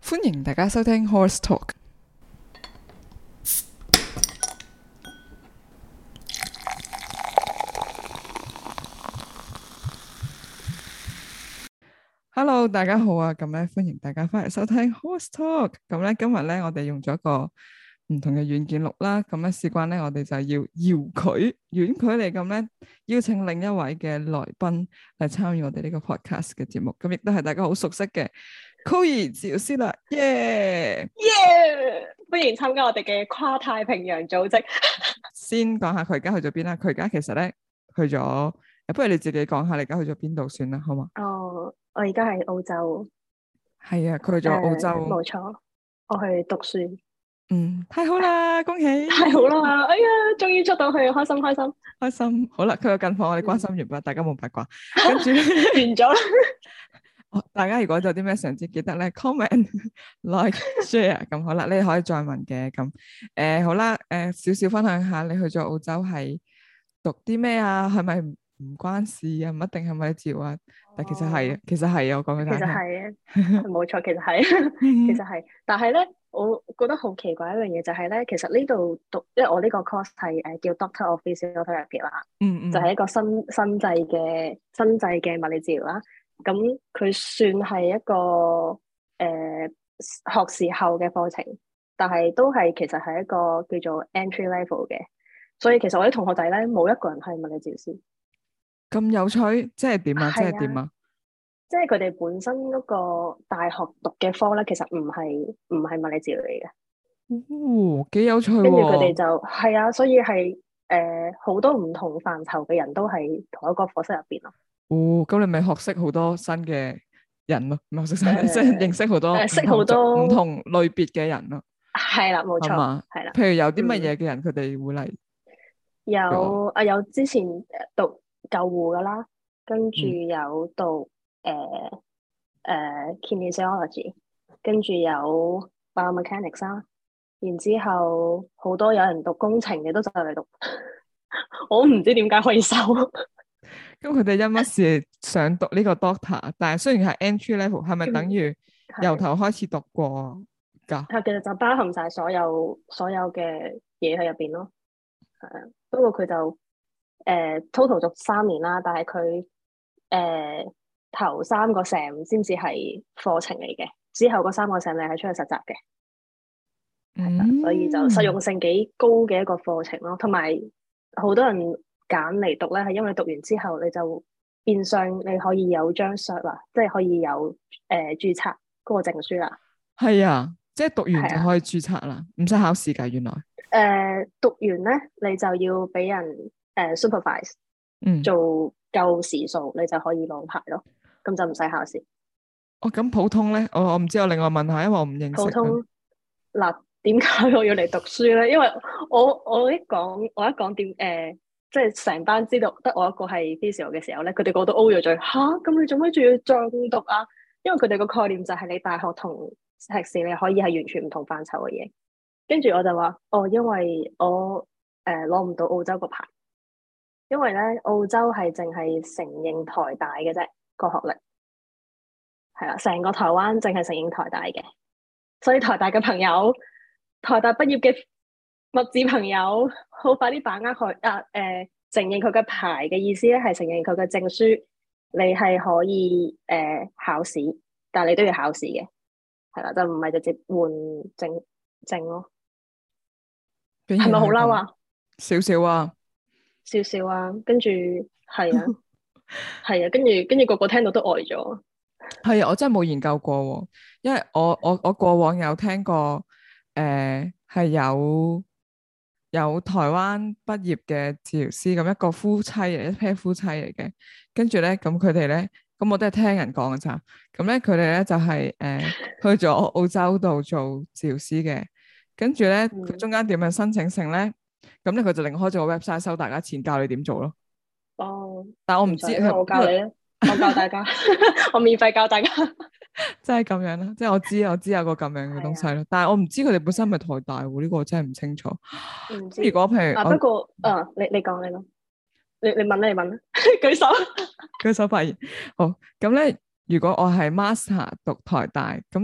歡迎大家收聽 Horse Talk。Hello，大家好啊！咁咧，歡迎大家翻嚟收聽 Horse Talk。咁咧，今日咧，我哋用咗一個唔同嘅軟件錄啦。咁咧，事關咧，我哋就要遙距遠距離咁咧，邀請另一位嘅來賓嚟參與我哋呢個 podcast 嘅節目。咁亦都係大家好熟悉嘅 Chloe 治療師啦，耶！ 歡迎參加我哋嘅跨太平洋組織。 先講下佢而家去咗邊啦。佢而家其實咧去咗，不如你自己講下你而家去咗邊度算啦，好嘛？ 哦，我而家喺澳洲。 係啊，佢去咗澳洲。 冇錯，我去讀書。 太好啦，恭喜！ 太好啦，哎呀，終於出到去，開心開心開心。好啦，佢有近況，我哋關心完畢，大家冇八卦。跟住完咗啦。 大家如果有啲咩想知，記得咧 comment、like、share。咁好啦，你哋可以再問嘅。咁好啦，少少分享下，你去咗澳洲係讀啲咩啊？係咪唔關事啊？唔一定係咪治療啊？但其實係，其實係我講俾大家聽。 其實係啊，冇錯，其實係，其實係。但係咧，我覺得好奇怪一樣嘢就係咧，其實呢度讀，因為我呢個 course 係叫 Doctor of Physiotherapy 啦，就係一個新製嘅物理治療啦。咁佢算係一個學士後嘅課程，但係都係其實係一個叫做 entry level 嘅，所以其實我啲同學仔咧冇一個人係物理治療師。 咁有趣，即係點啊？即係點啊？ 即係佢哋本身嗰個大學讀嘅科咧，其實唔係物理治療嚟嘅。 哦，幾有趣喎！ 跟住佢哋就係啊，所以係好多唔同範疇嘅人都係同一個課室入邊咯。 哦，咁你咪學識好多新嘅人咯，唔係學識新，即係認識好多識好多唔同類別嘅人咯。 係啦，冇錯，係啦。 譬如有啲乜嘢嘅人，佢哋會嚟？ 有之前讀救護噶啦，跟住有讀kinesiology， 跟住有 biomechanics 啦，然之後好多有人讀工程嘅都就嚟讀，我唔知點解可以收。 咁佢哋因乜事想讀呢個 doctor？但係雖然係 entry level，係咪等於由頭開始讀過㗎？ 其實就包含晒所有嘅嘢喺入邊咯。係啊，不過佢就total 讀3年啦，但係佢頭3個 sem 先至係課程嚟嘅，之後嗰3個 sem 你係出去實習嘅。所以就實用性幾高嘅一個課程咯。同埋好多人揀嚟讀咧，係因為讀完之後你就變相你可以有張 cert 啦，即係可以有註冊嗰個證書啦。 係啊，即係讀完就可以註冊啦，唔使考試㗎。原來讀完咧，你就要俾人supervise，做夠時數，你就可以攞牌咯。咁就唔使考試。 哦，咁普通咧，我唔知，我另外問下，因為我唔認識。 普通嗱，點解我要嚟讀書咧？因為我一講點即係成班知道得我一個係 physio 嘅時候咧，佢哋個個都 O 咗嘴。吓，咁你做咩仲要再讀啊？因為佢哋個概念就係你大學同碩士你可以係完全唔同範疇嘅嘢。跟住我就話因為我攞唔到澳洲個牌，因為咧澳洲係淨係承認台大嘅啫，個學歷係啦，成個台灣淨係承認台大嘅，所以台大嘅朋友，台大畢業嘅物治朋友，好快啲把握佢承認佢嘅牌嘅意思咧，係承認佢嘅證書，你係可以考試，但係你都要考試嘅，係啦，就唔係直接換證咯。係咪好嬲啊？ 少少啊， 少少啊，跟住係啊，係啊，跟住個個聽到都呆咗。 係啊，我真係冇研究過，因為我過往有聽過，係有台灣畢業嘅治療師，咁一個夫妻嚟，一 pair 夫妻嚟嘅，跟住咧，咁佢哋咧，咁我都係聽人講嘅咋，咁咧佢哋咧就係去咗澳洲度做治療師嘅，跟住咧佢中間點樣申請成咧，咁咧佢就另開咗個 website 收大家錢，教你點做咯。但我唔知， 我教你啊。我教大家，我免費教大家， 真係咁樣啦，即係我知有個咁樣嘅東西咯，但係我唔知佢哋本身係咪台大喎，呢個我真係唔清楚。 唔知。 如果譬如不過你講你咯，你問啦，舉手發言。好，咁咧，如果我係 master 讀台大，咁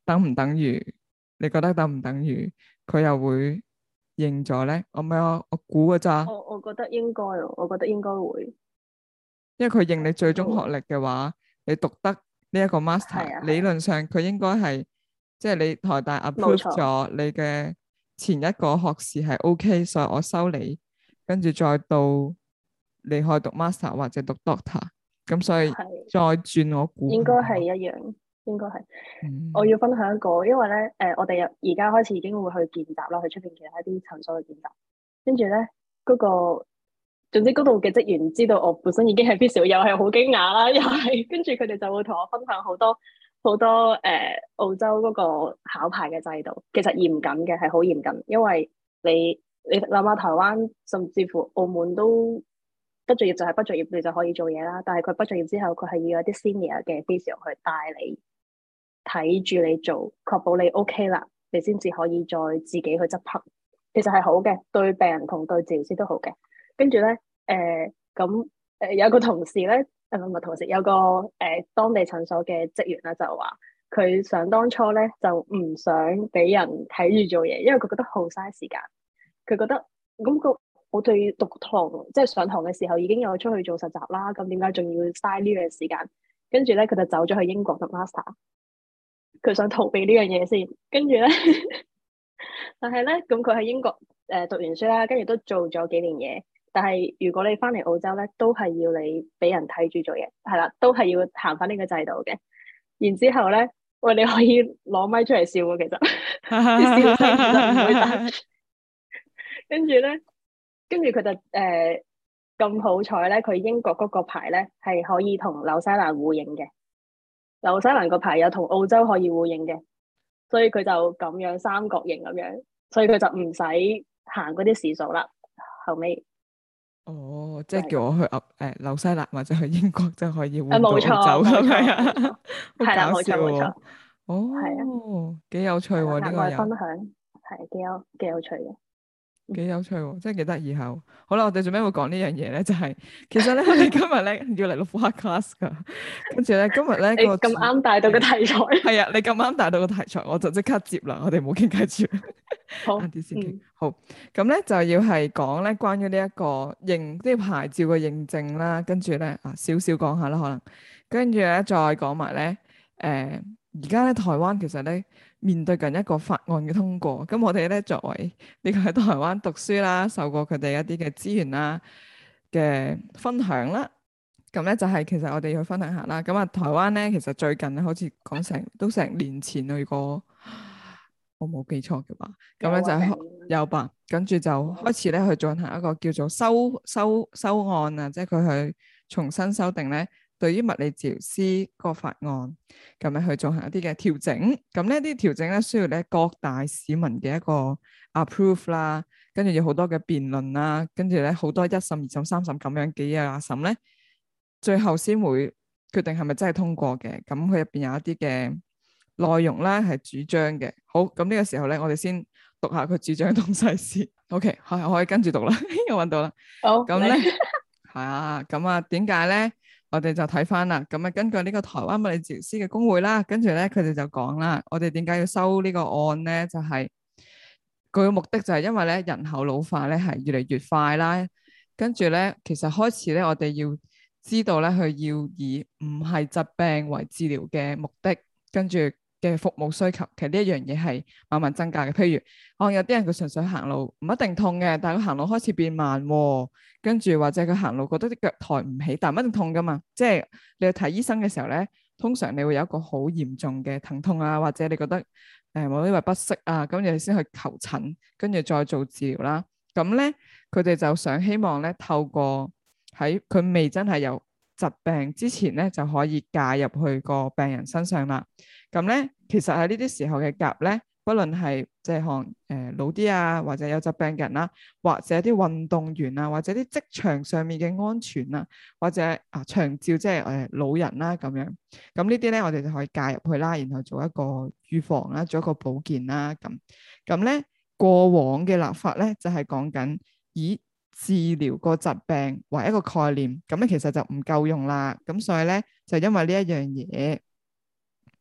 等唔等於？你覺得等唔等於佢又會認咗咧？我估㗎咋， 我覺得應該，我覺得應該會， 因為佢認你最終應該會， 學歷嘅話，你讀得呢一個 master，理係啊係啊， 論上佢應該係即係你台大冇 approve 錯， 咗你嘅前一個學士係 OK，所以我收你，跟住再到你可以讀 master 或者讀 doctor，咁所以係再轉我估係咁咯。 應該係一樣，應該係。我嗯要分享一個，因為咧，我哋而家開始已經會去見習啦，去出邊其他啲診所去見習。跟住咧，嗰個總之嗰度嘅職員知道我本身已經係 physio，又係好驚訝啦，又係跟住佢哋就會同我分享好多好多澳洲嗰個考牌嘅制度，其實嚴謹嘅，係好嚴謹，因為你諗下台灣甚至乎澳門都畢咗業就係畢咗業，你就可以做嘢啦。但係佢畢咗業之後，佢係要有啲 senior 嘅 physio 去帶你睇住你做，確保你 OK 啦，你先至可以再自己去執行。其實係好嘅，對病人同對治療師都好嘅。跟住咧，有個同事咧，唔係同事，有個當地診所嘅職員咧就話，佢想當初咧就唔想俾人睇住做嘢，因為佢覺得好嘥時間。佢覺得咁我哋讀堂即係上堂嘅時候已經有出去做實習啦，咁點解仲要嘥呢樣時間？跟住咧，佢就走咗去英國讀 master，佢想逃避呢樣嘢先。跟住咧，但係咧，咁佢喺英國讀完書啦，跟住都做咗幾年嘢。但係如果你翻嚟澳洲咧，都係要你俾人睇住做嘢，係啦，都係要行翻呢個制度嘅。然之後咧，喂，你可以攞咪出嚟笑喎，其實啲笑聲其實唔會大。跟住咧，跟住佢就咁好彩咧，佢英國嗰個牌咧係可以同紐西蘭互認嘅，紐西蘭個牌有同澳洲可以互認嘅，所以佢就咁樣三角形咁樣，所以佢就唔使行嗰啲時數啦。後尾哦，即就係咁， 係叫我去紐西蘭或者去英國就可以換到澳洲冇錯冇咁樣錯冇錯， 啊，好係啦冇搞笑喎！ 錯冇錯，係啊哦，幾有趣係啦， 喎呢額外分個又。 享係幾有趣嘅， 幾有趣喎，真係幾得意下。好啦，我哋做咩會講呢樣嘢咧？就係、其實咧，我哋今日咧要嚟錄 podcast 噶，跟住咧今日咧你咁個主啱帶到個題材， 係啊，你咁啱帶到個題材，我就即刻接啦。我哋冇傾偈住， 好晏啲先傾。 嗯好，咁咧就要係講咧關於呢一個即係牌照嘅認證啦，跟住咧少少講下啦，可能跟住咧再講埋咧而家咧台灣其實咧面對緊一個法案嘅通過，咁我哋咧作為呢個喺台灣讀書啦，受過佢哋一啲嘅資源啦嘅分享啦，咁咧就係其實我哋要去分享下啦。咁啊，台灣咧其實最近咧好似講成年前啦，如果我冇記錯嘅話，咁咧就有啊定有吧，跟住就開始咧去進行一個叫做修案啊，即係佢去重新修訂咧。對於物理治療師個法案咁樣去進行一啲嘅調整，咁呢啲調整咧需要咧各大市民嘅一個 approve 啦，跟住有好多嘅辯論啦，跟住咧好多一審、二審、三審咁樣幾日審咧，最後先會決定係咪真係通過嘅。咁佢入邊有一啲嘅內容咧係主張嘅。好，咁呢個時候咧，我哋先讀下佢主張嘅東西先。OK，我可以跟住讀啦，我揾到啦。 好咁咧係啊，咁啊點解咧？我哋就睇翻啦，咁啊根據呢個台灣物理治療師嘅工會啦，跟住咧佢哋就講啦，我哋點解要收呢個案咧？就係佢嘅目的就係因為咧人口老化咧係越嚟越快啦，跟住咧其實開始咧我哋要知道咧佢要以唔係疾病為治療嘅目的，跟住嘅服務需求，其實呢一樣嘢係慢慢增加嘅。譬如可能有啲人佢純粹行路唔一定痛嘅，但係佢行路開始變慢喎。跟住或者佢行路覺得啲腳抬唔起，但唔一定痛噶嘛。即係你去睇醫生嘅時候咧，通常你會有一個好嚴重嘅疼痛啊，或者你覺得某啲位不適啊，咁你先去求診，跟住再做治療啦。咁咧，佢哋就想希望咧，透過喺佢未真係有疾病之前咧，就可以介入去個病人身上啦。咁咧，其實喺呢啲時候嘅夾咧。不論係即係可能老啲啊，或者有疾病嘅人啦，或者啲運動員啊，或者啲職場上面嘅安全啊，或者長照即係老人啦咁樣，咁呢啲咧我哋就可以介入去啦，然後做一個預防啦，做一個保健啦咁咧過往嘅立法咧就係講緊以治療個疾病為一個概念，咁咧其實就唔夠用啦，咁所以咧就因為呢一樣嘢。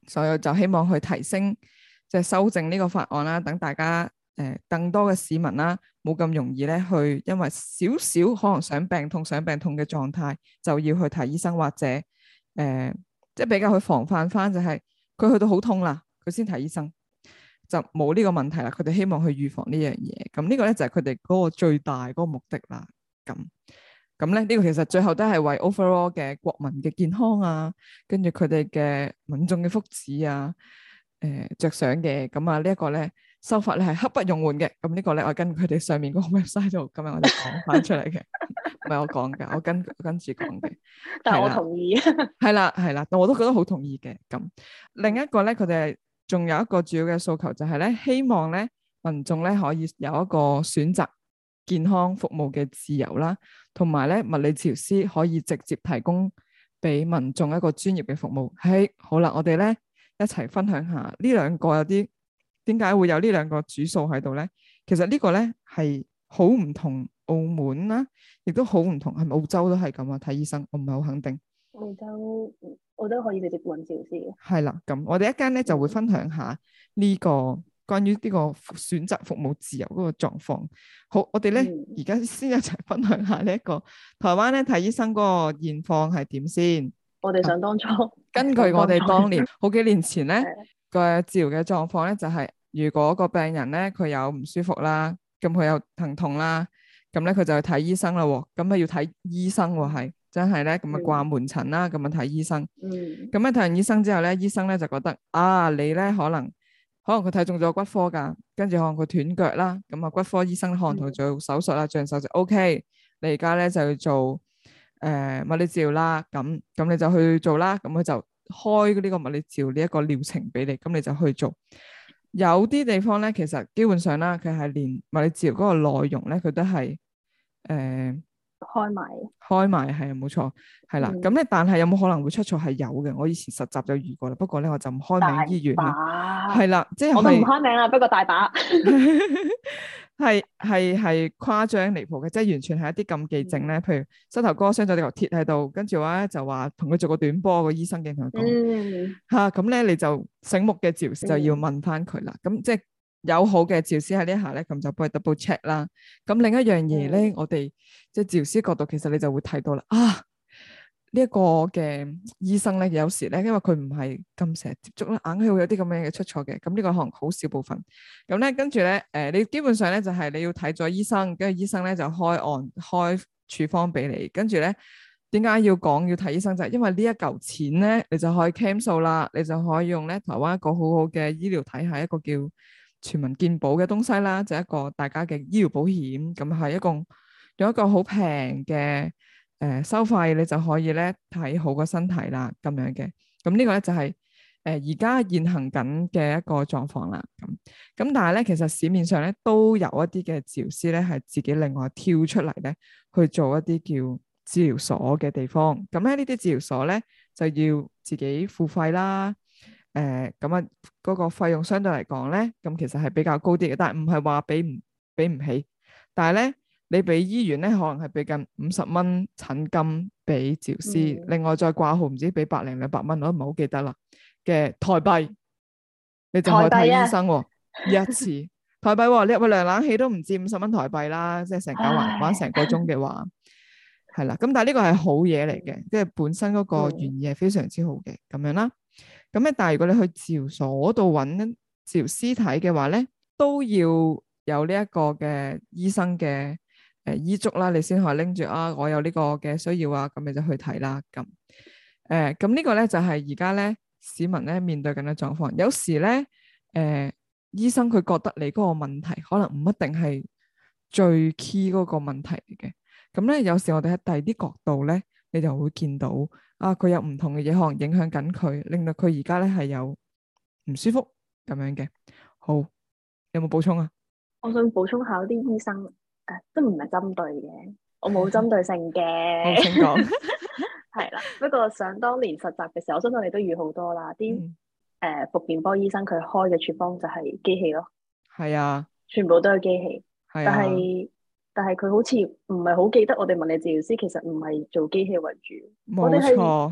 所以就希望去提升即係修正呢個法案啦，等大家更多嘅市民啦，冇咁容易咧去因為少少可能想病痛嘅狀態就要去睇醫生，或者即係比較去防範翻，就係佢去到好痛啦，佢先睇醫生，就冇呢個問題啦。佢哋希望去預防呢樣嘢，咁呢個咧就係佢哋嗰個最大嗰個目的啦。咁咧呢個其實最後都係為 overall 嘅國民嘅健康啊，跟住佢哋嘅民眾嘅福祉啊，着想嘅。咁啊呢一個咧修法咧係刻不容緩嘅。咁呢個咧我跟佢哋上面嗰個 website 度，今日我哋講翻出嚟嘅，唔係我講嘅，我跟住講嘅。 但係我同意。 係啦，我都覺得好同意嘅。咁另一個咧，佢哋仲有一個主要嘅訴求就係咧，希望咧民眾咧可以有一個選擇健康服務嘅自由啦，同埋咧物理治療師可以直接提供俾民眾一個專業嘅服務。好啦，我哋咧一齊分享下呢兩個有啲點解會有呢兩個主訴喺度咧？其實呢個咧係好唔同澳門啦，亦都好唔同係咪澳洲都係咁啊？睇醫生我唔係好肯定。 澳洲可以直接揾治療師嘅。 係啦，咁我哋一間咧就會分享下呢個關於呢個選擇服務自由嗰個狀況。好，我哋咧而家先一齊分享下呢一個台灣咧睇醫生嗰個現況係點先。 我哋想當初， 根據我哋當年好幾年前咧個治療嘅狀況咧，就係如果個病人咧佢有唔舒服啦，咁佢有疼痛啦，咁咧佢就去睇醫生啦。咁啊要睇醫生喎，係真係咧，咁啊掛門診啦，咁啊睇醫生。咁咧睇完醫生之後咧，醫生咧就覺得你咧可能佢睇中咗骨科噶，跟住可能佢斷腳啦，咁啊骨科醫生可能同佢做手術啦，做完手術 OK， 你而家咧就要做物理治療啦，咁你就去做啦，咁佢就開呢個物理治療呢一個療程俾你，咁你就去做。有啲地方咧，其實基本上啦，佢係連物理治療嗰個內容咧，佢都係開埋係啊，冇錯，係啦。咁咧，但係有冇可能會出錯？係有嘅。我以前實習就遇過啦，不過咧我就唔開名醫院啦。係啦，即係我都唔開名啦，不過大把係誇張離譜嘅，即係完全係一啲禁忌症咧。譬如膝頭哥傷咗條鐵喺度，跟住話就話同佢做個短波，個醫生嘅同佢講嚇，咁咧你就醒目嘅治療師就要問翻佢啦。咁即係有好嘅治療師喺呢一下咧，咁就幫佢 double check 啦。咁另一樣嘢咧，我哋即係治療師角度，其實你就會睇到啦。呢一個嘅醫生咧，有時咧，因為佢唔係咁成日接觸啦，硬係會有啲咁樣嘅出錯嘅。咁呢個可能好少部分。咁咧，跟住咧，你基本上咧就係你要睇咗醫生，跟住醫生咧就開處方俾你。跟住咧，點解要睇醫生就係因為呢一嚿錢咧，你就可以 claim 數啦，你就可以用咧台灣一個好好嘅醫療體系，一個叫全民健保嘅東西啦，就係一個大家嘅醫療保險。咁係用一個好平嘅收費，你就可以咧睇好個身體啦，咁樣嘅。咁呢個咧就係而家現行緊嘅一個狀況啦。咁但係咧，其實市面上咧都有一啲嘅治療師咧係自己另外跳出嚟咧去做一啲叫治療所嘅地方。咁咧呢啲治療所咧就要自己付費啦。咁啊嗰個費用相對嚟講咧，咁其實係比較高啲嘅，但係唔係話俾唔起，但係咧。你俾醫院咧，可能係俾近50蚊診金俾治療師，另外再掛號唔知俾100零200蚊，我都唔係好記得啦嘅台幣，你就可以睇醫生喎，一次台幣喎，你入去涼冷氣都唔止50蚊台幣啦，即係成間玩成個鐘嘅話，係啦。咁但係呢個係好嘢嚟嘅，即係本身嗰個原意係非常之好嘅咁樣啦。咁咧，但係如果你去治療所度揾治療師睇嘅話咧，都要有呢一個嘅醫生嘅。醫囑啦，你先可以拎住我有呢個嘅需要啊，咁你就去睇啦。咁呢個咧就係而家咧市民咧面對緊嘅狀況。有時咧醫生佢覺得你嗰個問題可能唔一定係最 key 嗰個問題嚟嘅。咁咧有時我哋喺第二啲角度咧，你就會見到佢有唔同嘅嘢可能影響緊佢，令到佢而家咧係有唔舒服咁樣嘅。好，有冇補充啊？ 我想補充下啲醫生。都唔係針對嘅，我冇針對性嘅。 好，請講。 係啦，不過想當年實習嘅時候，我相信你都遇好多啦。啲復健科醫生佢開嘅處方就係機器咯。係啊，全部都係機器。係啊，但係佢好似唔係好記得我哋物理治療師其實唔係做機器為主。冇錯。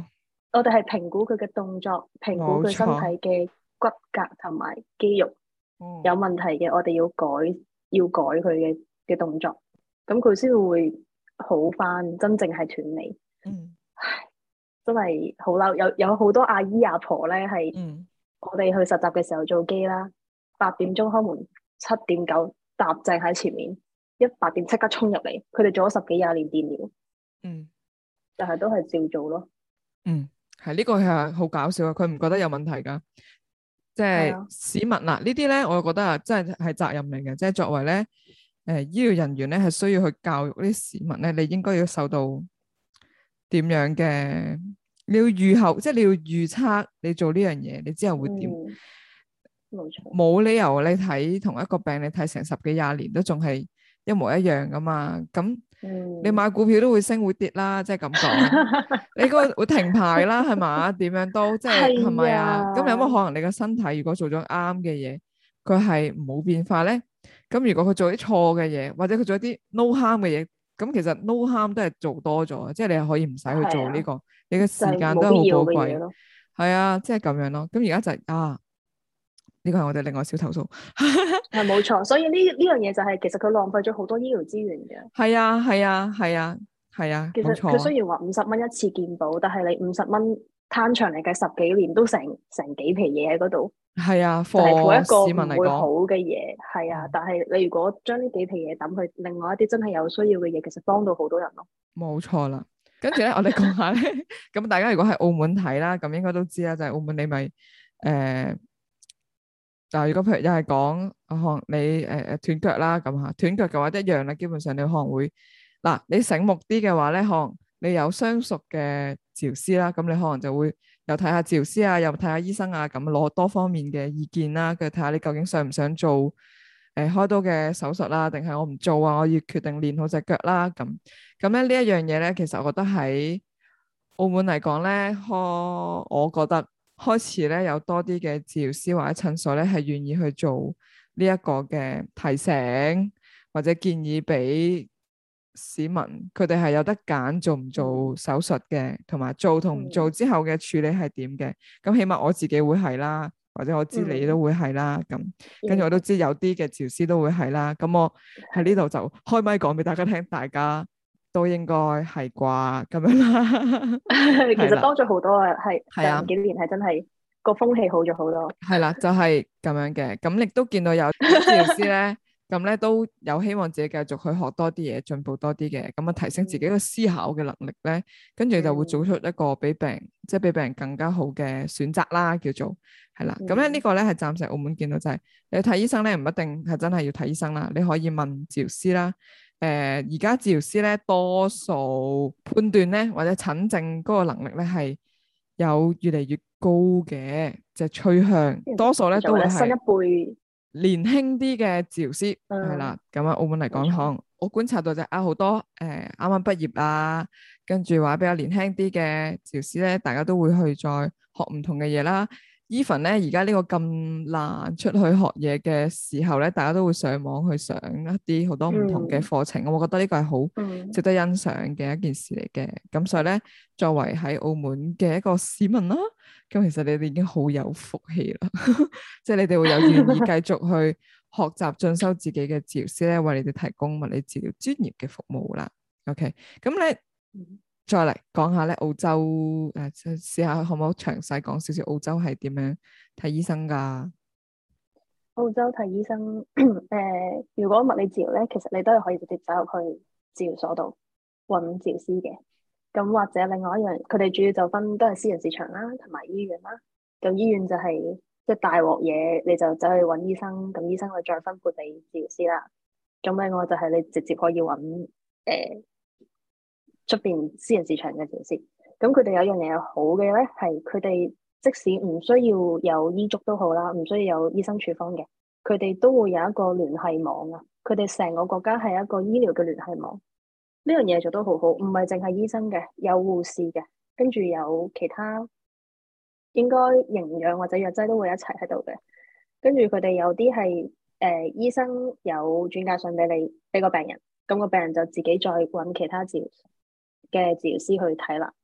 我哋係評估佢嘅動作，評估佢身體嘅骨骼同埋肌肉有問題嘅，我哋要改佢嘅動作，咁佢先會好翻，真正係斷尾。唉，真係好嬲，有好多阿姨阿婆咧，係我哋去實習嘅時候做機啦，8點鐘開門，7點9踏正喺前面，8點即刻衝入嚟，佢哋做咗10幾20年電療，但係都係照做咯。 係呢個係好搞笑啊！佢唔覺得有問題噶，即係市民嗱呢啲咧，我覺得啊，真係責任嚟嘅，即係作為咧醫療人員咧，係需要去教育啲市民咧，你應該要受到點樣嘅，你要預後，即係你要預測你做呢樣嘢，你之後會點？ 冇錯， 冇理由你睇同一個病，你睇成10幾20年都仲係一模一樣噶嘛？咁你買股票都會升會跌啦，即係咁講，你個會停牌啦，係嘛？點樣都即係咪啊？咁有乜可能你個身體如果做咗啱嘅嘢，佢係冇變化咧？咁如果佢做啲錯嘅嘢，或者佢做一啲 no harm 嘅嘢，咁其實 no harm 都係做多咗，即係你係可以唔使去做呢個，你嘅時間都係好寶貴。係啊，即係咁樣咯。咁而家就呢個係我哋另外小投訴。 係冇錯，所以呢樣嘢就係其實佢浪費咗好多醫療資源嘅。 係啊，係啊，係啊，係啊， 其實佢雖然話50蚊一次健保，但係你50蚊攤長嚟計10幾年都成幾皮嘢喺嗰度。 係啊， 就係做一個市民嚟講唔會好嘅嘢，係啊。但係你如果將呢幾皮嘢抌去另外一啲真係有需要嘅嘢，其實幫到好多人咯。 冇錯啦。跟住咧，我哋講下咧，咁大家如果喺澳門睇啦，咁應該都知啦，就係澳門你咪嗱，如果譬如又係講可能你斷腳啦，咁嚇斷腳嘅話一樣啦，基本上你可能會嗱，你醒目啲嘅話咧，可能你有相熟嘅治療師啦，咁你可能就會又睇下治療師啊，又睇下醫生啊，咁攞多方面嘅意見啦，跟住睇下你究竟想唔想做開刀嘅手術啦，定係我唔做啊，我要決定練好隻腳啦，咁咧呢一樣嘢咧，其實我覺得喺澳門嚟講咧，我覺得開始咧有多啲嘅治療師或者診所咧係願意去做呢一個嘅提醒或者建議俾市民，佢哋係有得揀做唔做手術嘅，同埋做同唔做之後嘅處理係點嘅。咁起碼我自己會係啦，或者我知你都會係啦。咁跟住我都知有啲嘅治療師都會係啦。咁我喺呢度就開咪講俾大家聽，大家都應該係啩咁樣啦。 其實多咗好多啊，係近幾年係真係個風氣好咗好多。 係啦，就係咁樣嘅。咁亦都見到有治療師咧，咁咧都有希望自己繼續去學多啲嘢，進步多啲嘅，咁啊提升自己嘅思考嘅能力咧，跟住就會做出一個比病人更加好嘅選擇啦，叫做係啦。咁咧呢個咧係暫時澳門見到就係你睇醫生咧，唔一定係真係要睇醫生啦，你可以問治療師啦。而家治療師咧多數判斷咧或者診症嗰個能力咧係有越嚟越高嘅，即係趨向，多數咧都會係新一輩年輕啲嘅治療師係啦。咁啊澳門嚟講，可能我觀察到就好多啱啱畢業啊，跟住話比較年輕啲嘅治療師咧，大家都會去再學唔同嘅嘢啦。even 咧而家呢個咁難出去學嘢嘅時候咧，大家都會上網去上一啲好多唔同嘅課程，我覺得呢個係好值得欣賞嘅一件事嚟嘅。咁所以咧，作為喺澳門嘅一個市民啦，咁其實你哋已經好有福氣啦，即係你哋會有願意繼續去學習進修自己嘅治療師咧，為你哋提供物理治療專業嘅服務啦。OK，咁咧。再嚟講下咧，澳洲試下可唔可以詳細講少少澳洲係點樣睇醫生噶？ 澳洲睇醫生，如果物理治療咧，其實你都係可以直接走入去治療所度揾治療師嘅。咁或者另外一樣，佢哋主要就分都係私人市場啦，同埋醫院啦。咁醫院就係即係大鑊嘢，你就走去揾醫生，咁醫生會再分配俾治療師啦。咁另外就係你直接可以揾出邊私人市場嘅治療師，咁佢哋有一樣嘢好嘅咧，係佢哋即使唔需要有醫囑都好啦，唔需要有醫生處方嘅，佢哋都會有一個聯繫網啊。佢哋成個國家係一個醫療嘅聯繫網，呢樣嘢做得好好，唔係淨係醫生嘅，有護士嘅，跟住有其他應該營養或者藥劑都會一齊喺度嘅。跟住佢哋有啲係醫生有轉介信俾你，俾個病人，咁個病人就自己再揾其他治療師去睇啦。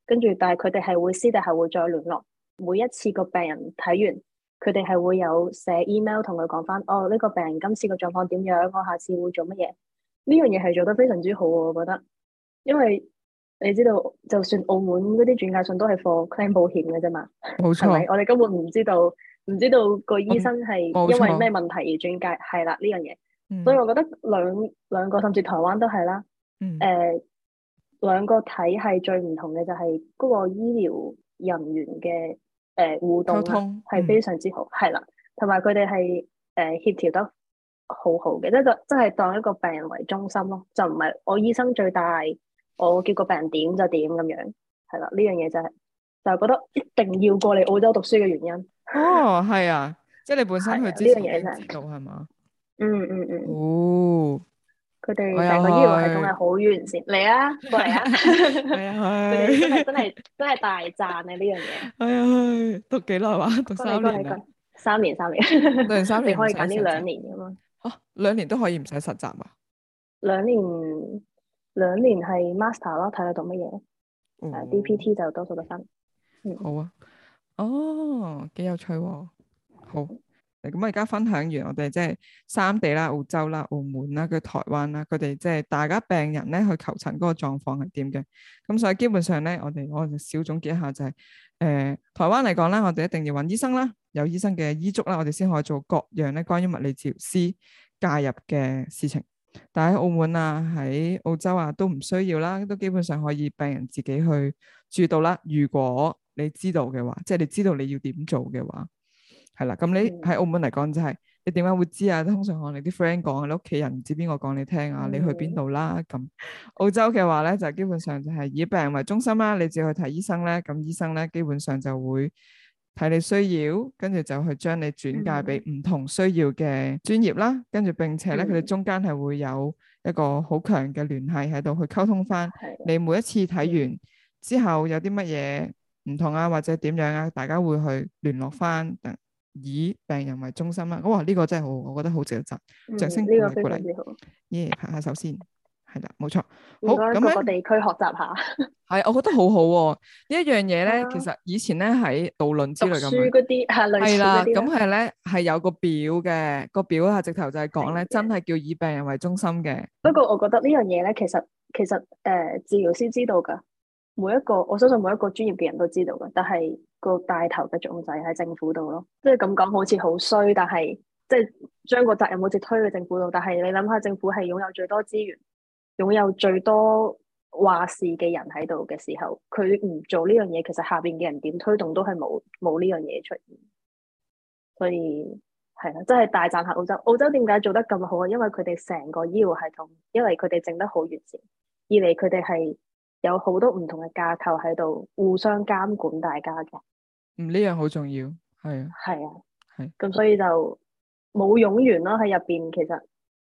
跟住但係佢哋係會私底下會再聯絡，每一次個病人睇完，佢哋係會有寫 email 同佢講翻，哦，呢個病人今次個狀況點樣，我下次會做乜嘢。呢樣嘢係做得非常之好，我覺得，因為你知道，就算澳門嗰啲轉介信都係 for claim 保險嘅啫嘛， 冇係咪？ 錯， 我哋根本唔知道個醫生係冇因為咩錯， 問題而轉介，係啦呢樣嘢。所以嗯我覺得兩個甚至台灣都係啦。 嗯， 兩個體系最唔同嘅就係嗰個醫療人員嘅互動啦， 溝通， 係非常之好，係啦，同埋佢哋係協調得好好嘅，即係當一個病人為中心咯，就唔係我醫生最大，我叫個病人點就點咁樣，係啦，呢樣嘢就係覺得一定要過嚟澳洲讀書嘅原因。 哦，係啊，即係你本身係啊， 去呢之前已經樣嘢就係， 知道係嘛？ 嗯， 哦， 佢我又哋成個醫療系統係去， 好完善，嚟啊，過嚟啊， 我又佢哋真係真去， 係真係大讚啊呢樣嘢。 我又去，讀幾耐話？讀過嚟過嚟過 3年啊？ 嚟，3年， 讀完三你年唔可以揀呢使實習， 2年噶嘛？ 嚇2年都可以唔使實習啊？ 兩年兩年係 master 咯，睇你讀乜嘢。 哦， DPT 就多數得分。 好啊，哦，幾有趣喎。好，咁我而家分享完我哋即係三地啦、澳洲啦、澳門啦、佢台灣啦，佢哋即係大家病人咧去求診嗰個狀況係點嘅。咁所以基本上咧，我就小總結一下就係、台灣嚟講咧，我哋一定要揾醫生啦，有醫生嘅醫囑啦，我哋先可以做各樣咧關於物理治療師介入嘅事情。但喺澳門啊、喺澳洲啊都唔需要啦，都基本上可以病人自己去注到啦。如果你知道嘅話，即係你知道你要點做嘅話。係啦，咁你喺澳門嚟講就係、你點解會知啊？通常可能你啲 friend 講，你屋企人唔知邊個講你聽啊，你去邊度啦咁。澳洲嘅話咧，就基本上就係以病人為中心啦，你只要去睇醫生咧，咁醫生咧基本上就會睇你需要，跟住就去將你轉介俾唔同需要嘅專業啦，跟住並且咧佢哋中間係會有一個好強嘅聯繫喺度去溝通翻你每一次睇完之後有啲乜嘢唔同啊，或者點樣啊，大家會去聯絡翻。以病人為中心啦，哇！呢個真係好，我覺得好值得讚，掌聲鼓呢個非勵鼓勵， 常之好， 耶！拍下手先，係啦，冇錯。好應該咁咧， 各個地區學習下。 係我覺得好好喎。呢一樣嘢咧，其啊， 實以前咧喺導論之讀類咁樣， 書嗰啲類係啦， 似嗰啲咧。 咁係咧係有個表嘅，個表啊直頭就係講咧， 係嘅。 真係叫以病人為中心嘅。 不過我覺得呢樣嘢咧，其實治療師知道㗎，我相信每一個專業嘅人都知道㗎，但係個帶頭嘅作用就係喺政府度咯。即係咁講好似好衰，但係即係將個責任好似推去政府度。但係你諗下，政府係擁有最多資源、擁有最多話事嘅人喺度嘅時候，佢唔做呢樣嘢，其實下邊嘅人點推動都係冇呢樣嘢出現。所以係啦，真係大讚下澳洲。澳洲點解做得咁好啊？因為佢哋成個醫療系統，因為佢哋整得好完善，二嚟佢哋係有好多唔同嘅架構喺度互相監管大家嘅。 呢樣好重要，係啊， 係啊， 係。 咁所以就冇冗員咯喺入邊，其實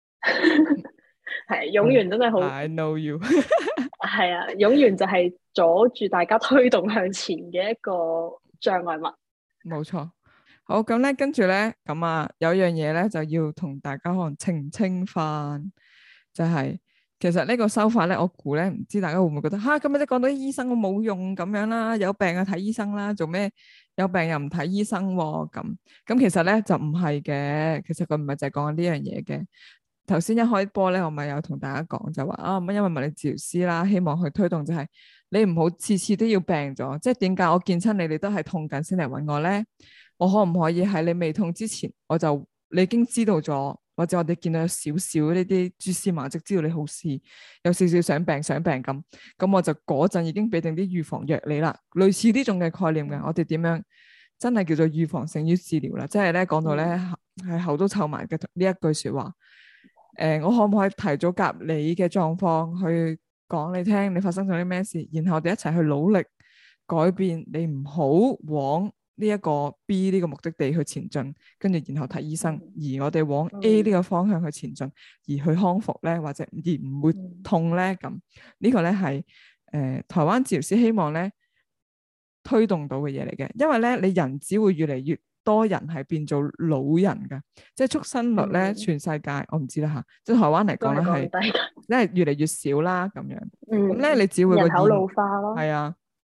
係冗員真係好。 I know you 係啊，冗員就係阻住大家推動向前嘅一個障礙物。 冇錯。好，咁咧，跟住咧，咁啊，有樣嘢咧就要同大家可能澄清翻，就係其實呢個手法咧，我估咧，唔知大家會唔會覺得吓，咁咪即係講到啲醫生我冇用咁樣啦，有病啊睇醫生啦，做咩有病又唔睇醫生喎？咁其實咧就唔係嘅，其實佢唔係就係講緊呢樣嘢嘅。頭先一開波咧，我咪有同大家講就話啊，因為物理治療師啦，希望去推動就係你唔好次次都要病咗，即係點解我見親你，你都係痛緊先嚟揾我咧？我可唔可以喺你未痛之前，你已經知道咗，或者我哋見到有少少呢啲蛛絲馬跡，知道你好似有少少想病咁我就嗰陣已經俾定啲預防藥你啦，類似呢種嘅概念嘅。我哋點樣真係叫做預防勝於治療啦？即係咧講到咧係口都臭埋嘅呢一句說話。我可唔可以提早夾你嘅狀況去講你聽，你發生咗啲咩事，然後我哋一齊去努力改變，你唔好往呢一個 B 呢個目的地去前進，跟住然後睇醫生，而我哋往 A 呢個方向去前進，而去康復咧，或者而唔會痛咧，咁呢個咧係台灣治療師希望咧推動到嘅嘢嚟嘅，因為咧你人只會越嚟越多人係變做老人㗎，即係出生率咧，全世界我唔知啦嚇，即係台灣嚟講咧係，因為越嚟越少啦咁樣，咁咧你只會個人口老化咯， 係啊，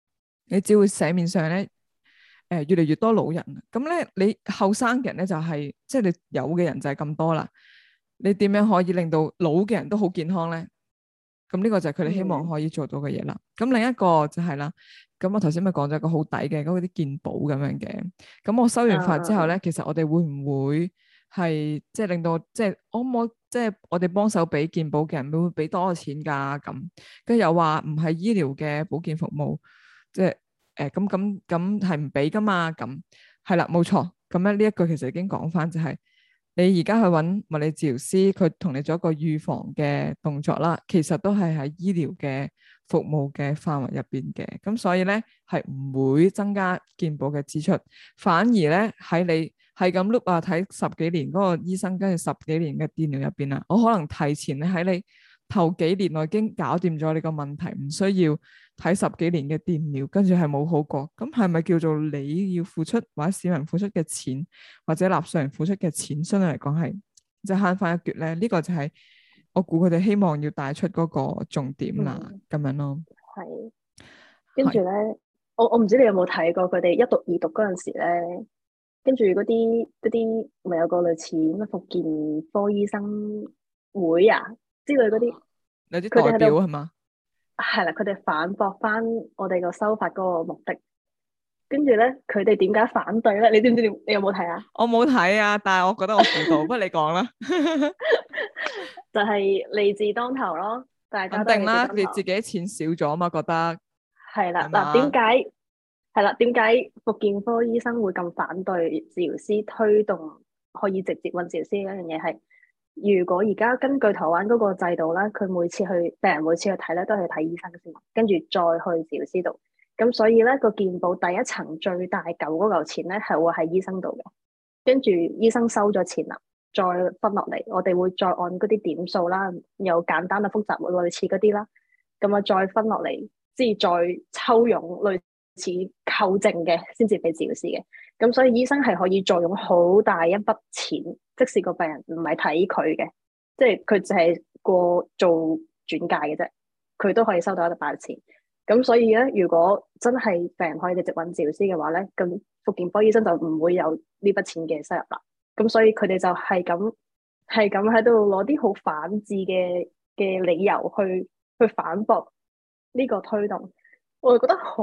你只會社面上咧越嚟越多老人。咁咧你後生嘅人咧就係即係你有嘅人就係咁多啦。你點樣可以令到老嘅人都好健康咧？咁呢個就係佢哋希望可以做到嘅嘢啦。咁另一個就係啦，咁我頭先咪講咗個好抵嘅嗰啲健保咁樣嘅。咁我收完發之後咧，其實我哋會唔會係即係令到即係可唔可以即係我哋幫手俾健保嘅人會唔會俾多錢㗎？咁跟住又話唔係醫療嘅保健服務，即係咁係唔俾㗎嘛？咁係啦，冇錯。咁咧呢一句其實已經講翻就係。你而家去揾物理治療師，佢同你做一個預防嘅動作啦，其實都係喺醫療嘅服務嘅範圍入邊嘅，咁所以咧係唔會增加健保嘅支出，反而咧喺你係咁 look 啊睇十幾年嗰個醫生跟住十幾年嘅電療入邊啊，我可能提前咧喺你頭幾年內已經搞掂咗你個問題，唔需要睇十幾年嘅電療，跟住係冇好過，咁係咪叫做你要付出或者市民付出嘅錢，或者納稅人付出嘅錢，相對嚟講係即係慳翻一橛咧？呢個就係我估佢哋希望要帶出嗰個重點啦，咁樣咯。 係，跟住咧，我唔知你有冇睇過佢哋一讀二讀嗰陣時咧，跟住嗰啲咪有個類似咩復健科醫生會啊之類嗰啲， 有啲代表係嘛？ 係啦，佢哋反駁翻我哋個修法嗰個目的，跟住咧佢哋點解反對咧？你知唔知？你有冇睇啊？ 我冇睇啊，但係我覺得我估到，不過你講啦。 就係利字當頭咯，大家都肯定啦，你利字當頭。 自己錢少咗嘛，覺得係啦， 係嘛？ 嗱，點解復健科醫生會咁反對治療師推動可以直接揾治療師？呢樣嘢係，如果而家根據台灣嗰個制度咧，佢病人每次去睇咧，都係睇醫生先，跟住再去治療師度。咁所以咧個健保第一層最大嚿嗰嚿錢咧，係會喺醫生度嘅。跟住醫生收咗錢啦，再分落嚟，我哋會再按嗰啲點數啦，有簡單啊、複雜類似嗰啲啦，咁啊再分落嚟，即係再抽佣類似扣證嘅，先至俾治療師嘅。咁所以醫生係可以坐擁好大一筆錢，即使個病人唔係睇佢嘅，即係佢淨係過做轉介嘅啫，佢都可以收到一大筆錢。咁所以咧，如果真係病人可以直接揾治療師嘅話咧，咁復健科醫生就唔會有呢筆錢嘅收入啦。咁所以佢哋就係咁喺度攞啲好反智嘅理由去反駁呢個推動，我就覺得好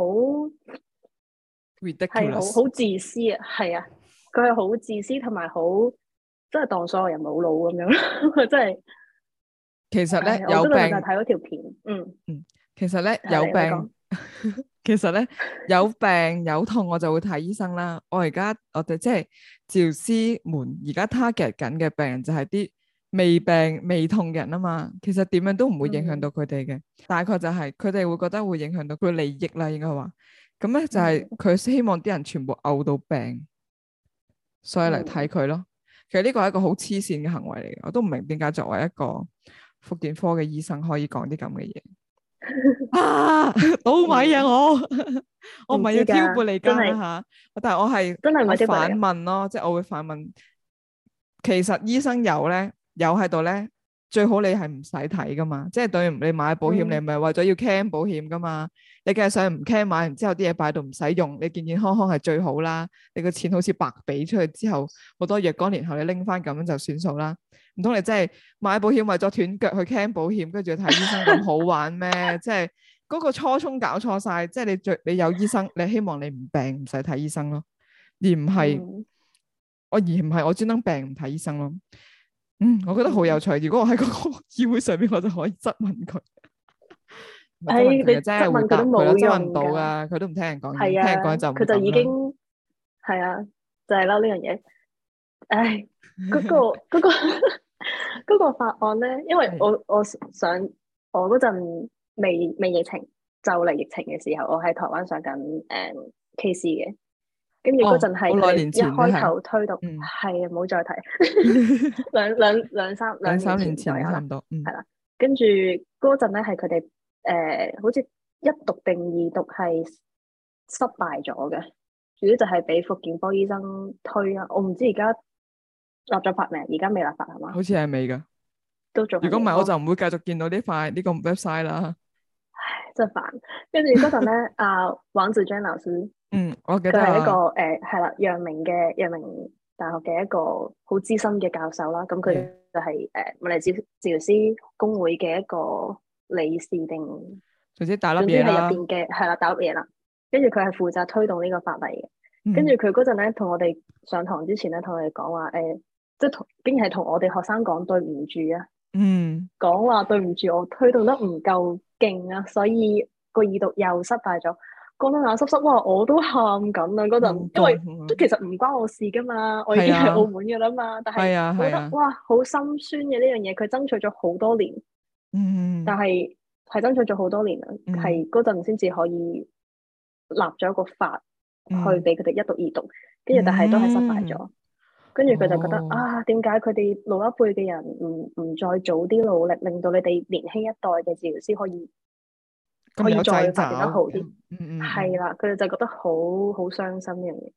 ridiculous， 好自私啊，係啊，佢係好自私同埋好真係當所有人冇腦咁樣，真係。 其實咧有病，我就有病睇嗰條片， 其實咧有病，其實咧有病有痛我就會睇醫生啦。我哋即係治療師們而家 target 緊嘅病人就係啲未病未痛嘅人啊嘛。其實點樣都唔會影響到佢哋嘅，大概就係佢哋會覺得會影響到佢利益啦，應該話。咁咧就係佢希望啲人全部嘔到病，所以嚟睇佢咯。其實呢個係一個好黐線嘅行為嚟嘅，我都唔明點解作為一個復健科嘅醫生可以講啲咁嘅嘢。啊，倒米啊！我唔係要挑撥離間啦吓，但係我係真係唔係反問咯，即係我會反問，其實醫生有喺度咧，最好你係唔使睇噶嘛，即係等於你買保險，你唔係為咗要 claim 保險噶嘛，你梗係想唔 claim，買完之後啲嘢擺到唔使用，你健健康康係最好啦，你個錢好似白俾出去之後，好多若干年後你拎翻咁樣就算數啦。唔通你真係買保險為咗斷腳去 claim 保險，跟住睇醫生咁好玩咩？即係嗰個初衷搞錯晒。即係你有醫生，你希望你唔病唔使睇醫生咯，而唔係我專登病唔睇醫生咯。我覺得好有趣。如果我喺嗰個議會上面，我就可以質問佢。 你質問佢都冇用到噶，佢都唔聽人講嘢， 聽人講就佢就已經係啊，就係啦呢樣嘢。唉，嗰個法案咧，因為我嗰陣未疫情就嚟疫情嘅時候，我喺台灣上緊case 嘅，跟住嗰陣係佢哋一開頭推動，係啊，唔好再提兩三年前差唔多，係啦。跟住嗰陣咧係佢哋好似一讀定二讀係失敗咗嘅，主要就係俾復健科醫生推啊。我唔知而家立咗法未？而家未立法係嘛？ 好似係未噶， 都仲。 如果唔係，我就唔會繼續見到呢個 website 啦。 真係煩。跟住嗰陣咧，王子娟老師， 我記得佢係一個係啦，陽明大學嘅一個好資深嘅教授啦。咁佢就係物理治療師公會嘅一個理事定， 總之大粒總之係嘢啦。 入邊嘅係啦，大粒嘢啦。跟住佢係負責推動呢個法例嘅。 嗯跟住佢嗰陣咧，同我哋上堂之前咧，同我哋講話即係竟然係同我哋學生講對唔住啊，講話對唔住，我推動得唔夠勁啊，所以個二讀又失敗咗。講到眼濕濕，哇！我都喊緊啊嗰陣，因為都其實唔關我事噶嘛，我已經係澳門嘅啦嘛。但係我覺得哇，好心酸嘅呢樣嘢，佢爭取咗好多年，但係爭取咗好多年啊，係嗰陣先至可以立咗一個法去俾佢哋一讀二讀，跟住但係都係失敗咗。跟住佢就覺得點解佢哋老一輩嘅人唔再早啲努力，令到你哋年輕一代嘅治療師可以再發展得好啲？係啦，佢哋就覺得好傷心呢樣嘢。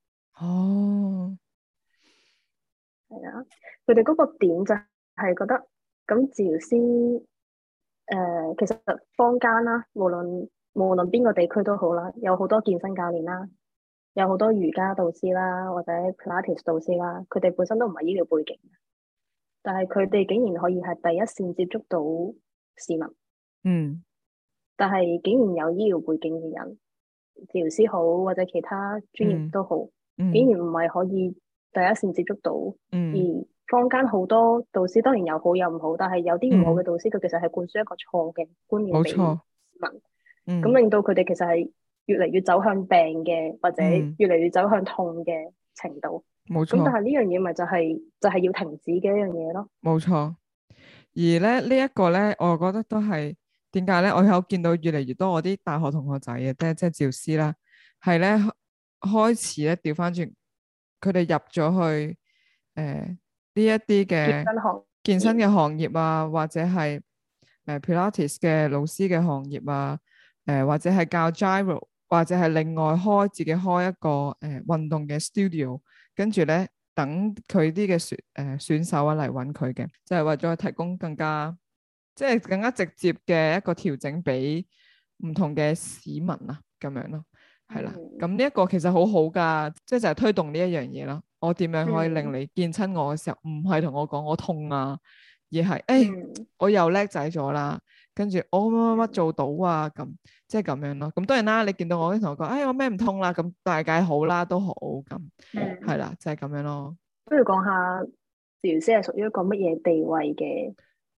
係啊，佢哋嗰個點就係覺得咁治療師其實坊間啦，無論邊個地區都好啦，有好多健身教練啦。有好多瑜伽導師啦，或者 Pilates 導師啦，佢哋本身都唔係醫療背景，但係佢哋竟然可以係第一線接觸到市民。但係竟然有醫療背景嘅人，治療師好或者其他專業都好，竟然唔係可以第一線接觸到。而坊間好多導師當然有好有唔好，但係有啲唔好嘅導師，佢其實係灌輸一個錯嘅觀念俾市民，咁令到佢哋其實係越嚟越走向病嘅，或者越嚟越走向痛嘅程度。冇錯。咁但係呢樣嘢咪就係要停止嘅一樣嘢咯。冇錯。而咧呢一個咧，我覺得都係點解咧？我有見到越嚟越多我啲大學同學仔嘅，即係治療師啦，係咧開始咧調翻轉，佢哋入咗去呢一啲嘅健身嘅行業啊，或者係Pilates 嘅老師嘅行業啊，或者係教 Gyro。或者係另外自己開一個運動嘅 studio， 跟住咧等佢啲嘅選手啊嚟揾佢嘅，就係為咗提供更加直接嘅一個調整俾唔同嘅市民啊，咁樣咯，係啦。咁呢一個其實好好噶，就係推動呢一樣嘢咯。我點樣可以令你見親我嘅時候，唔係同我講我痛啊，而係我又叻仔咗啦。跟住我乜做到啊，咁即係咁樣咯。咁當然啦，你見到我啲同學講，我咩唔痛啦，咁大概好啦，都好咁，係啦，就係咁樣咯。不如講下治療師係屬於一個乜嘢地位嘅？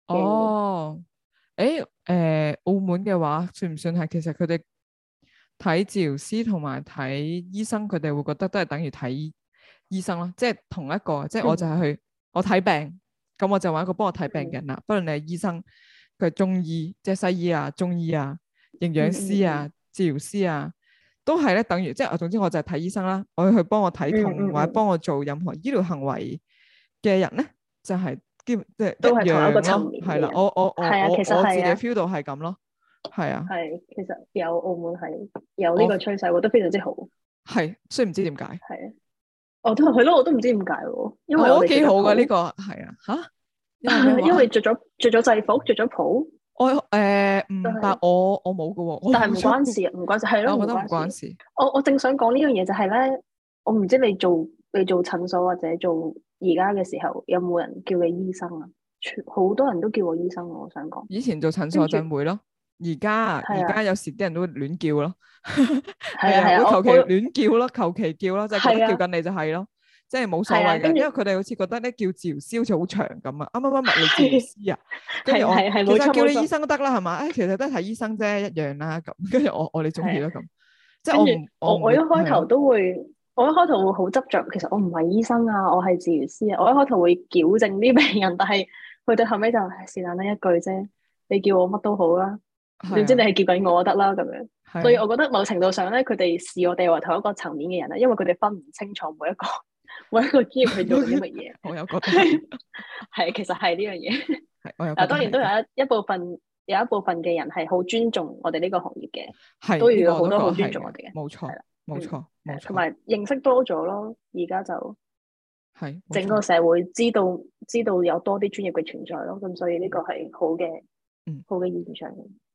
澳門嘅話算唔算係？其實佢哋睇治療師同埋睇醫生，佢哋會覺得都係等於睇醫生咯，即係同一個，即係我就係去我睇病，咁我就揾一個幫我睇病嘅人啦。不論你係醫生。佢係中醫，即係西醫啊、中醫啊、營養師啊、治療師啊，都係咧等於即係總之我就係睇醫生啦。我要去幫我睇痛或者幫我做任何醫療行為嘅人咧，就係即係都係同一個層面嘅人。係啦，我自己 feel 到係咁咯。係啊，係其實有澳門係有呢個趨勢，我覺得非常之好。係，雖然唔知點解。係啊，我都係咯，我都唔知點解喎。因為我幾好㗎呢個係啊嚇。因為着咗制服，着咗袍。但係我冇噶喎。但係唔關事，唔關事，係咯，我覺得唔關事。我正想講呢樣嘢就係咧，我唔知你做診所或者做而家嘅時候，有冇人叫你醫生啊？好多人都叫我醫生，我想講。以前做診所陣會咯，而家有時啲人都會亂叫咯。係啊，會求其亂叫咯，求其叫咯，就係覺得叫緊你就係咯。即係冇所謂嘅，因為佢哋好似覺得咧叫治療師好似好長咁啊！啱物理治療師啊，跟住我其實叫你醫生都得啦，係嘛？其實都係睇醫生啫，一樣啦咁。跟住我你中意咯咁。即係我一開頭都會，我一開頭會好執着。其實我唔係醫生啊，我係治療師啊。我一開頭會矯正啲病人，但係去到後尾就是但得一句啫。你叫我乜都好啦，總之你係叫緊我得啦咁樣。所以我覺得某程度上咧，佢哋視我哋為同一個層面嘅人啦，因為佢哋分唔清楚每一個專業去做啲乜嘢。我有覺得係其實係呢樣嘢。嗱，當然都有一部分嘅人係好尊重我哋呢個行業嘅，都有好多好尊重我哋嘅。冇錯，冇錯，冇錯。同埋認識多咗咯，而家就係整個社會知道有多啲專業嘅存在咯，咁所以呢個係好嘅現象。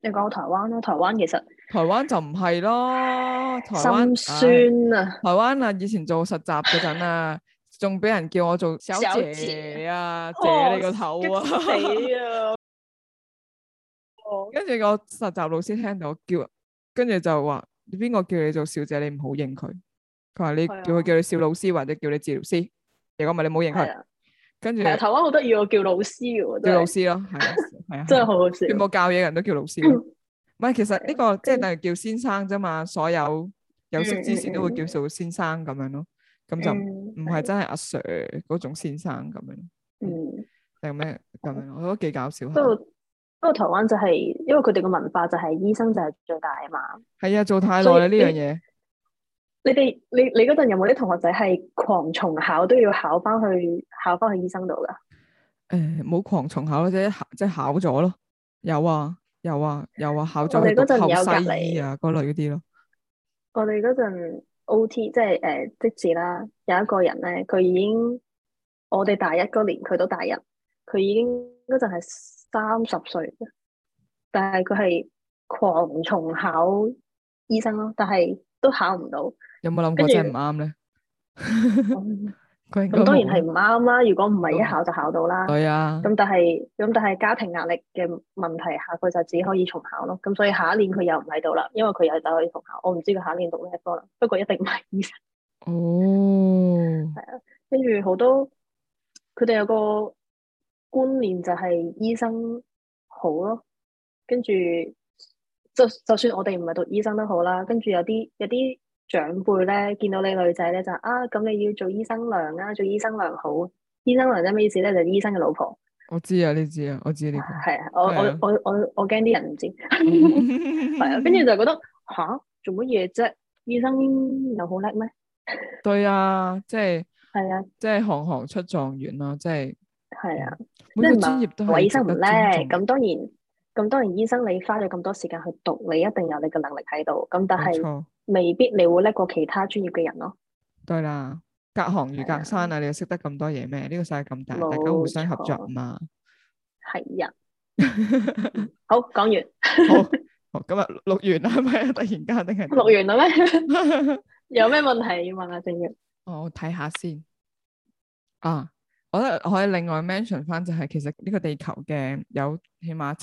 你講台灣啦，台灣其實台灣就唔係咯，台灣心唉酸啊， 台灣啊，以前做實習嗰陣啊，仲俾人叫我做小小姐姐啊，姐哦， 你個頭激啊！ 死啊！哦， 跟住個實習老師聽到叫，跟住就話：你邊個叫你做小姐？你唔好應佢。佢話你係啊， 叫佢叫你小老師或者叫你治療師，如果唔係你唔好應佢。 係啊， 跟住係啊，台灣好得意喎，叫老師嘅喎， 叫真係老師咯，係啊，係啊，係啊， 真係好好笑。 全部教嘢人都叫老師咯。唔係，其實呢係啊， 個即係跟等於叫先生啫嘛，所有有識之士都會叫做先生咁樣咯。咁就唔係係真係阿 Sir 嗰種先生咁樣。 嗯， 定咩咁樣？我覺得幾搞笑下。 不過台灣就係因為佢哋個文化就係醫生就係最大啊嘛， 係啊，做太耐所以啦呢樣嘢。 你嗰陣有冇啲同學仔係狂重考都要考翻去醫生度噶？ 冇狂重考咯，即係考咗咯。有啊，有啊，有啊，考咗去我哋嗰陣讀後有隔西醫離， 啊嗰類嗰啲咯。 我哋嗰陣 OT 即係即時啦，有一個人咧，佢已經我哋大一嗰年，佢都大一，佢已經嗰陣係30歲，但係佢係狂重考醫生咯，但係都考唔到， 有冇諗跟住過真係唔啱咧？ 嗯佢應該咁當然係冇啦， 唔啱啦。如果唔應該冇。 係一考就考到啦。 對啊， 咁但係家庭壓力嘅問題下，佢就只可以重考咯。咁所以下一年佢又唔喺度啦，因為佢又走去重考。我唔知佢下一年讀咩科啦，不過一定唔係醫生。 哦， 跟住好多佢哋有個觀念就係醫生好咯，跟住就算我哋唔係讀醫生都好啦。跟住有啲長輩咧，見到你女仔咧就咁你要做醫生娘啊，做醫生娘好。醫生娘係咩意思咧？就係醫生嘅老婆。 我知啊，你知啊，我知呢個係啊，我我係啊。 我我我驚啲人唔知。係啊，跟住就覺得做乜嘢啫？醫生又好叻咩？ 對啊，即係係啊， 即係行行出狀元咯，即係係啊， 每個即係唔專業都係話醫係值得生唔叻， 尊重。 咁當然醫生你花咗咁多時間去讀，你一定有你嘅能力喺度。咁但係冇錯， 未必你會叻過其他專業嘅人咯。 對啦，隔行如係啊， 隔山啊，你又識得咁多嘢咩？呢個世界咁大，大家互冇相合作錯， 嘛。 係啊。好，講完。 好，好，今日錄完啦，係咪啊？突然間定係錄完啦咩？ 點？ 有咩問題要問下正月？ 我睇下先啊！我覺得我可以另外 mention 翻，就係其實呢個地球嘅有起碼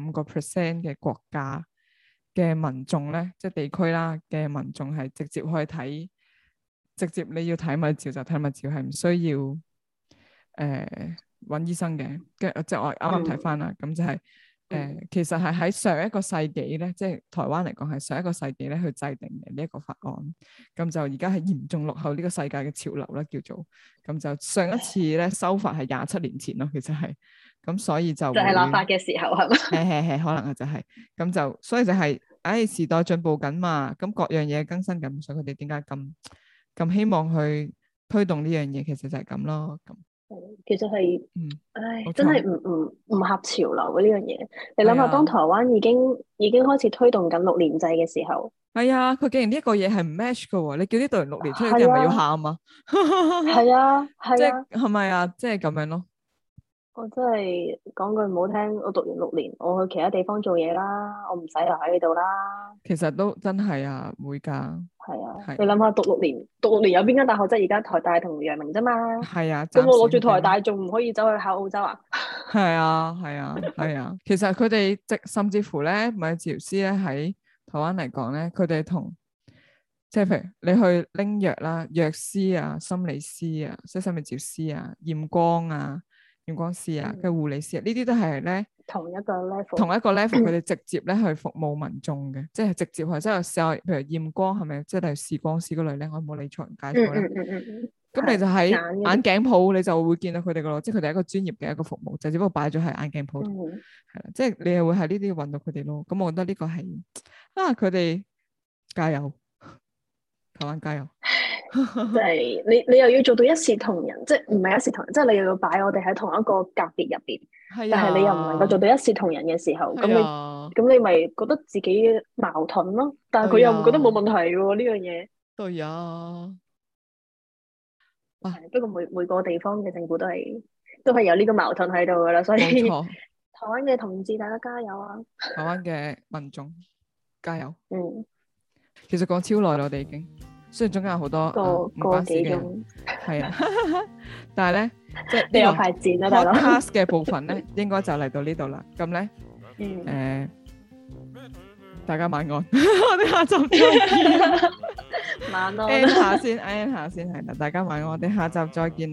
75%嘅國家嘅民眾咧，即係地區啦嘅民眾係直接可以睇，直接你要睇物照就睇物照，係唔需要揾醫生嘅。即係我啱啱睇翻啦，咁就係其實係喺上一個世紀咧，即係台灣嚟講係上一個世紀咧去制定嘅呢一個法案，咁就而家係嚴重落後呢個世界嘅潮流啦，叫做咁就上一次咧修法係27年前咯，其實係咁，所以就就係立法會嘅時候係嘛？ 係可能就係咁就，所以就係時代進步緊嘛，咁各樣嘢更新緊，所以佢哋點解咁希望去推動呢樣嘢，其實就係咁咯，咁其實係， 冇真係錯， 唔合潮流嘅呢樣嘢。你諗下，當係啊。 台灣已經開始推動緊6年制嘅時候， 係啊，佢竟然呢一個嘢係唔 match 噶喎，你叫呢對人6年出去，啲人咪要係啊， 喊啊？ 係啊， 即係係啊， 係咪啊？即係咁樣咯。 我真係講句唔好聽，我讀完6年，我去其他地方做嘢啦，我唔使留喺呢度啦。 其實都真係啊，會噶， 係啊， 係你諗下讀六年有邊間大學即係而家台大同陽明啫嘛？ 係啊， 咁暫時我攞住台係咁。 大仲唔可以走去考澳洲啊？ 係啊，係啊，係啊。其實佢哋甚至乎咧，物理治療師咧喺台灣嚟講咧，佢哋同即係譬如你去拎藥啦，藥師啊、心理師啊、即係心理治療師啊、驗光啊、驗光師啊、跟住護理師啊，呢啲都係咧。 同一個 level， 同一個 level，佢哋直接咧去服務民眾嘅，即係直接係即係試下，譬如驗光係咪，即係例如視光師嗰類咧，我冇理錯人介錯啦。咁你就喺眼嗰啲， 眼鏡鋪，你就會見到佢哋噶咯，即係佢哋係一個專業嘅一個服務，就只不過擺咗喺眼鏡鋪度，係啦，即係你係會喺呢啲揾到佢哋咯。咁我覺得呢個係佢哋加油，台灣加油。 即係你又要做到一視同仁，即係唔係一視同仁，即係你又要擺我哋喺同一個格別入邊， 係但係你又唔能夠做啊， 到一視同仁嘅時候，咁係你啊， 咁你咪覺得自己矛盾咯？但係佢對又唔覺得冇啊， 問題喎呢樣嘢。 對啊，啊， 係不過每個地方嘅政府都係有呢個矛盾喺度噶啦，所以冇錯。 灣嘅同志大家加油啊！ 台灣嘅民眾加油。 嗯， 其實講超耐啦，我哋已經，雖然中間有好多唔關事嘅人，係啊，但係咧，即係你有排剪啊，大佬。 podcast 嘅部分咧，應該就嚟到呢度啦。咁咧，大家晚安，我哋下集再見。 晚安。 end 下先係啦，大家晚安，我哋下集再見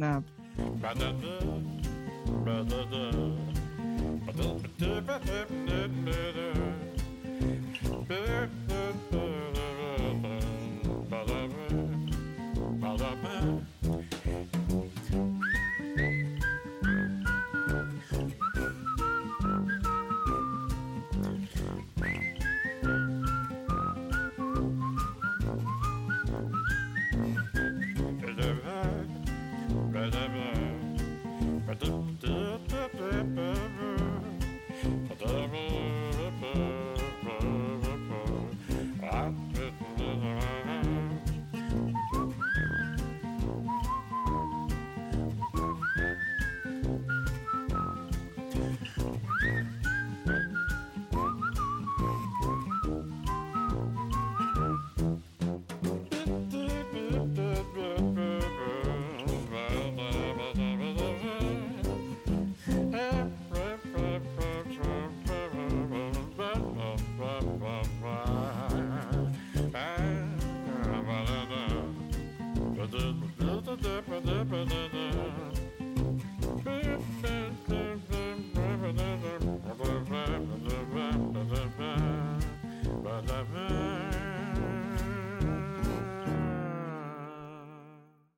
啦。Bye.